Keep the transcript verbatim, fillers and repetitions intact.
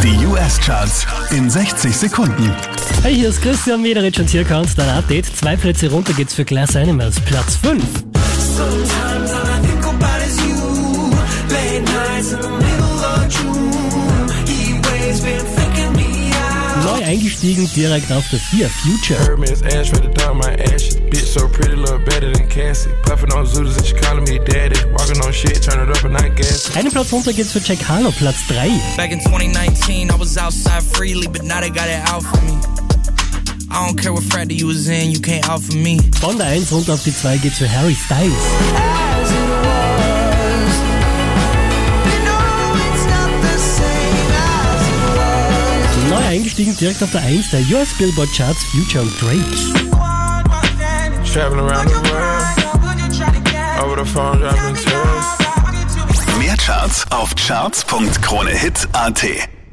Die U S-Charts in sechzig Sekunden. Hey, hier ist Christian Mederich und hier kommt dein Update. Zwei Plätze runter geht's für Glass Animals, Platz fünf. Neu eingestiegen, direkt auf der vier, Future. Einen Platz runter geht's für Jack Harlow, Platz drei. Back in twenty nineteen, I was outside freely, but now they got it out for me. I don't care what frat you was in, you can't out for me. Von der eins runter auf die zwei geht's für Harry Styles. Neu eingestiegen, direkt auf der eins der U S Billboard Charts, Future und Drake. Mehr Charts auf charts punkt kronehit punkt at.